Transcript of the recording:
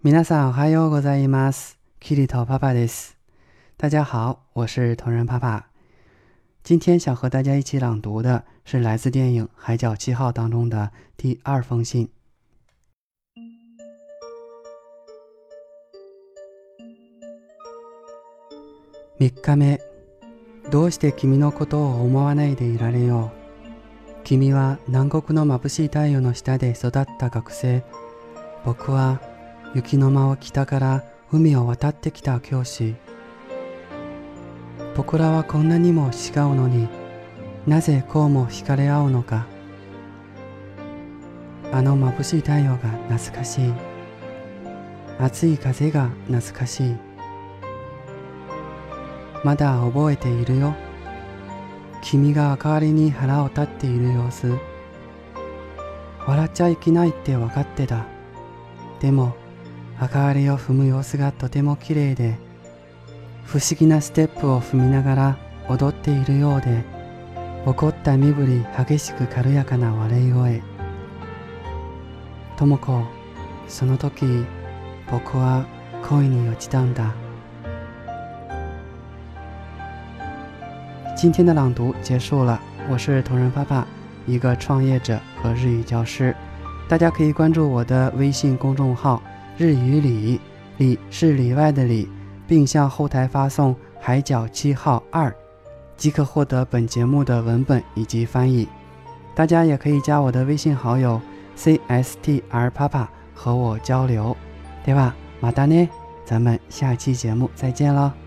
皆さんおはようございます。キリトパパです。大家好，我是同人爸爸。今天想和大家一起朗读的是来自电影《海角七号》当中的第2封信。3日目、どうして君のことを思わないでいられよう。君は南国の眩しい太陽の下で育った学生。僕は雪の間を北から海を渡ってきた教師。僕らはこんなにも違うのに、なぜこうも惹かれ合うのか。あの眩しい太陽が懐かしい。暑い風が懐かしい。まだ覚えているよ。君が明かりに腹を立っている様子。笑っちゃいけないって分かってた。でも明かりを踏む様子がとても綺麗で、不思議なステップを踏みながら踊っているようで、怒った身振り激しく軽やかな笑い声。とも子、その時僕は恋に落ちたんだ。今天的朗读结束了，我是同人爸爸，一个创业者和日语教师。大家可以关注我的微信公众号日语里，里是里外的里，并向后台发送海角七号2，即可获得本节目的文本以及翻译。大家也可以加我的微信好友 CSTR パパ和我交流。ではまたね，咱们下期节目再见了。